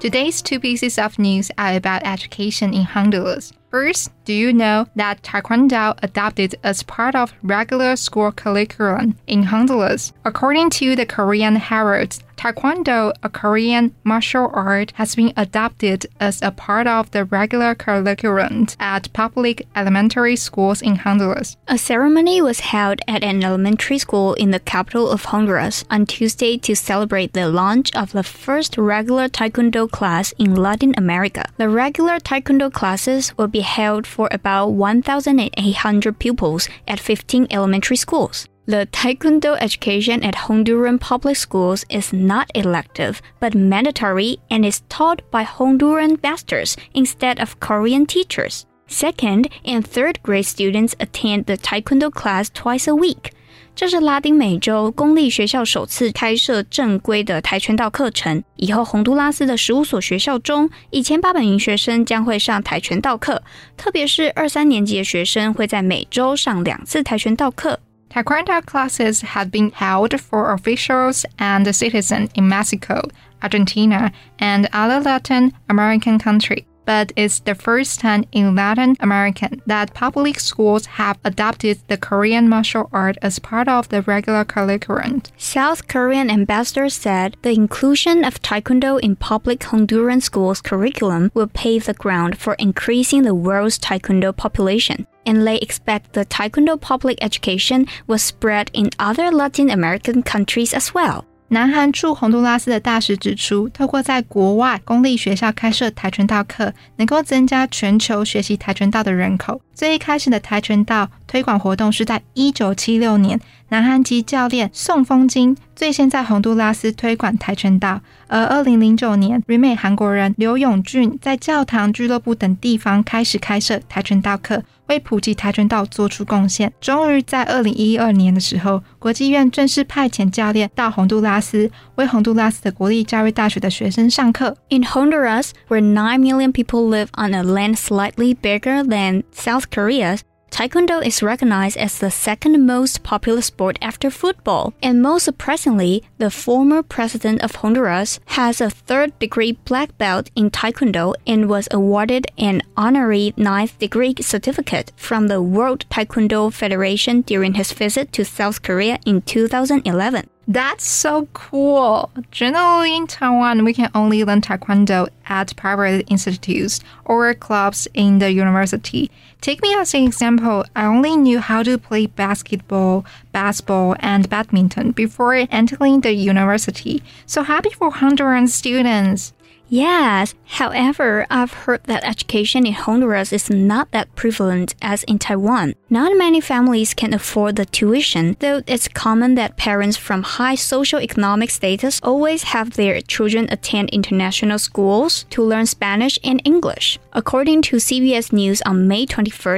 Today's two pieces of news are about education in Honduras. First, do you know that Taekwondo adopted as part of regular school curriculum in Honduras? According to the Korean Herald, Taekwondo, a Korean martial art, has been adopted as a part of the regular curriculum at public elementary schools in Honduras. A ceremony was held at an elementary school in the capital of Honduras on Tuesday to celebrate the launch of the first regular Taekwondo class in Latin America. The regular Taekwondo classes will be held for about 1,800 pupils at 15 elementary schools. The Taekwondo education at Honduran public schools is not elective, but mandatory and is taught by Honduran masters instead of Korean teachers. Second and third grade students attend the Taekwondo class twice a week. 这是拉丁美洲公立学校首次開設正規的跆拳道課程。以後洪都拉斯的15所學校中，1800名學生將會上跆拳道課，特別是2、3年級的學生會在每週上2次跆拳道課。 Taekwondo classes have been held for officials and citizens in Mexico, Argentina, and other Latin American countries. But it's the first time in Latin America that public schools have adopted the Korean martial art as part of the regular curriculum. South Korean ambassador said the inclusion of Taekwondo in public Honduran schools' curriculum will pave the ground for increasing the world's Taekwondo population. And they expect the Taekwondo public education will spread in other Latin American countries as well. 南韓駐洪都拉斯的大使指出，透過在國外公立學校開設跆拳道課，能夠增加全球學習跆拳道的人口。最一開始的跆拳道推廣活動是在1976年，南韓籍教練宋風金最先在洪都拉斯推廣跆拳道，而2009年，旅美韓國人劉永俊在教堂、俱樂部等地方開始開設跆拳道課，為普及跆拳道做出貢獻。終於在2012年的時候，國際院正式派遣教練到洪都拉斯，為洪都拉斯的國立教育大學的學生上課。 In Honduras, where 9 million people live on a land slightly bigger than South Korea's, Taekwondo is recognized as the second most popular sport after football. And most surprisingly, the former president of Honduras has a third-degree black belt in Taekwondo and was awarded an honorary 9th-degree certificate from the World Taekwondo Federation during his visit to South Korea in 2011. That's so cool. Generally in Taiwan, we can only learn Taekwondo at private institutes or clubs in the university. Take me as an example. I only knew how to play basketball, baseball, and badminton before entering the university. So happy for Honduran students. Yes, however, I've heard that education in Honduras is not that prevalent as in Taiwan. Not many families can afford the tuition, though it's common that parents from high socioeconomic status always have their children attend international schools to learn Spanish and English. According to CBS News on May 21,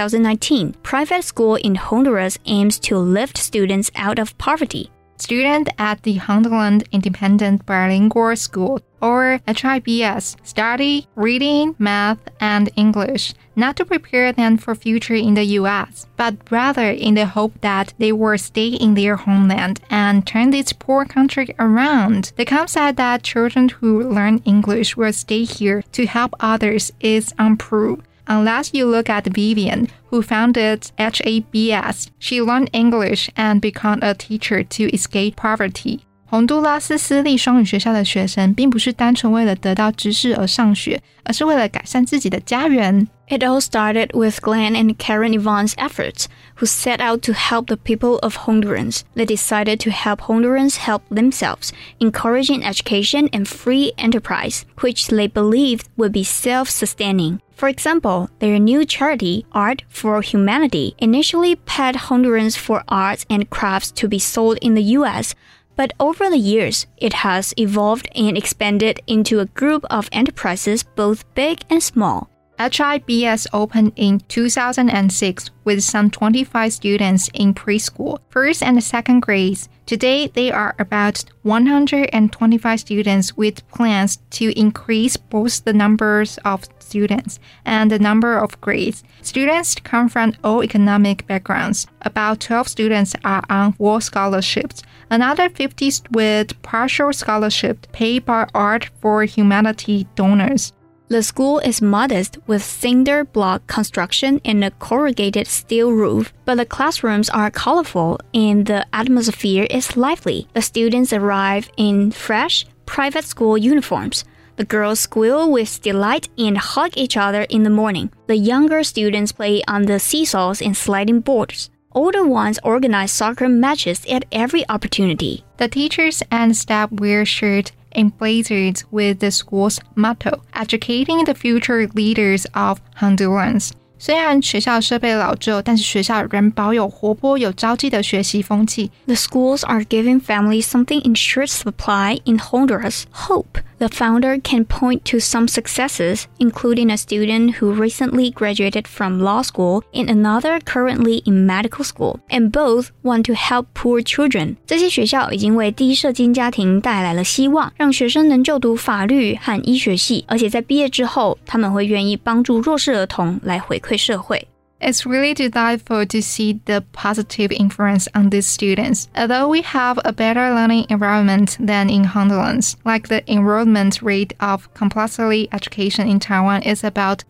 2019, private school in Honduras aims to lift students out of poverty. Students at the Honduran Independent Bilingual School, or HIBS, study reading, math, and English, not to prepare them for future in the U.S., but rather in the hope that they will stay in their homeland and turn this poor country around. The concept that children who learn English will stay here to help others is unproved. Unless you look at Vivian, who founded HABS, she learned English and became a teacher to escape poverty. 洪都拉斯私立雙語學校的學生並不是單純為了得到知識而上學，而是為了改善自己的家園。 It all started with Glenn and Karen Ivan's efforts, who set out to help the people of Hondurans. They decided to help Hondurans help themselves, encouraging education and free enterprise, which they believed would be self-sustaining. For example, their new charity, Art for Humanity, initially paid Hondurans for arts and crafts to be sold in the U.S., but over the years, it has evolved and expanded into a group of enterprises both big and small. HIBS opened in 2006 with some 25 students in preschool, first and second grades. Today, there are about 125 students with plans to increase both the numbers of students and the number of grades. Students come from all economic backgrounds. About 12 students are on full scholarships. Another 50 with partial scholarship paid by Art for Humanity donors. The school is modest with cinder block construction and a corrugated steel roof, but the classrooms are colorful and the atmosphere is lively. The students arrive in fresh, private school uniforms. The girls squeal with delight and hug each other in the morning. The younger students play on the seesaws and sliding boards. Older ones organize soccer matches at every opportunity. The teachers and staff wear shirts and blazers with the school's motto, educating the future leaders of Hondurans. 虽然学校设備老舊，但是學校仍保有活潑有朝氣的學習風氣。 The schools are giving families something in short supply in Honduras, hope. The founder can point to some successes, including a student who recently graduated from law school and another currently in medical school, and both want to help poor children. 这些學校已經為低社經家庭帶來了希望，讓學生能就讀法律和醫學系，而且在畢業之後，他們會願意幫助弱勢兒童來回饋社會。 It's really delightful to see the positive influence on these students. Although we have a better learning environment than in Honduras, like the enrollment rate of compulsory education in Taiwan is about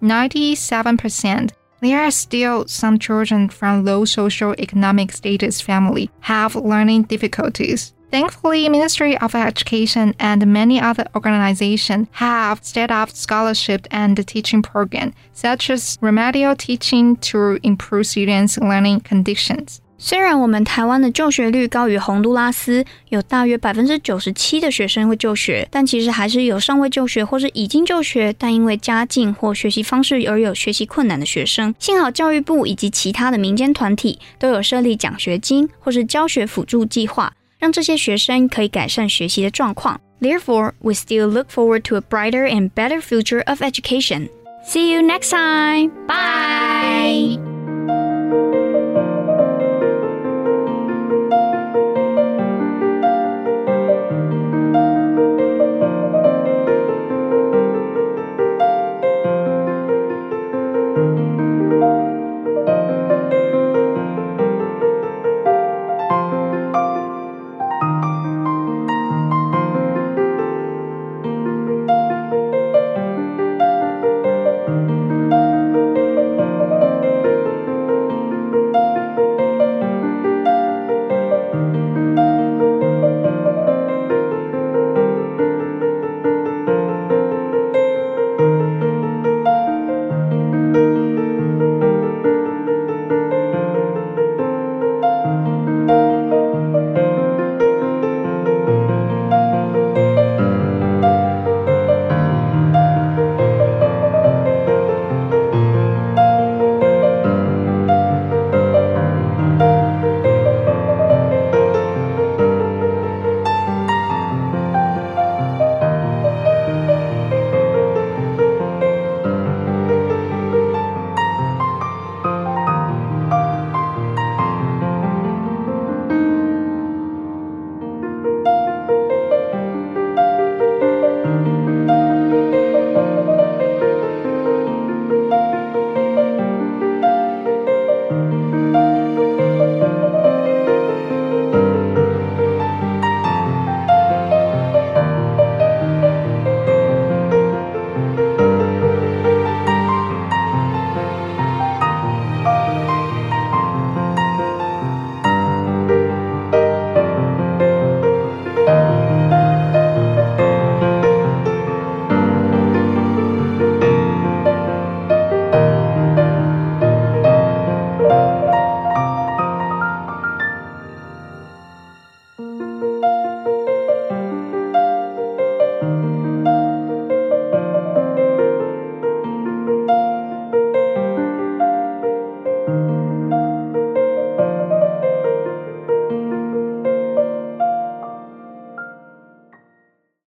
97%. There are still some children from low socio-economic status family have learning difficulties. Thankfully, Ministry of Education and many other organizations have set up scholarship and teaching programs, such as remedial teaching to improve students' learning conditions. 虽然我们台灣的就學率高於洪都拉斯，有大約 97% 的學生會就學，但其實還是有尚未就學或是已經就學，但因為家境或學習方式而有學習困難的學生。幸好教育部以及其他的民間團體都有設立獎學金或是教學輔助計劃，讓這些學生可以改善學習的狀況。Therefore, we still look forward to a brighter and better future of education. See you next time! Bye!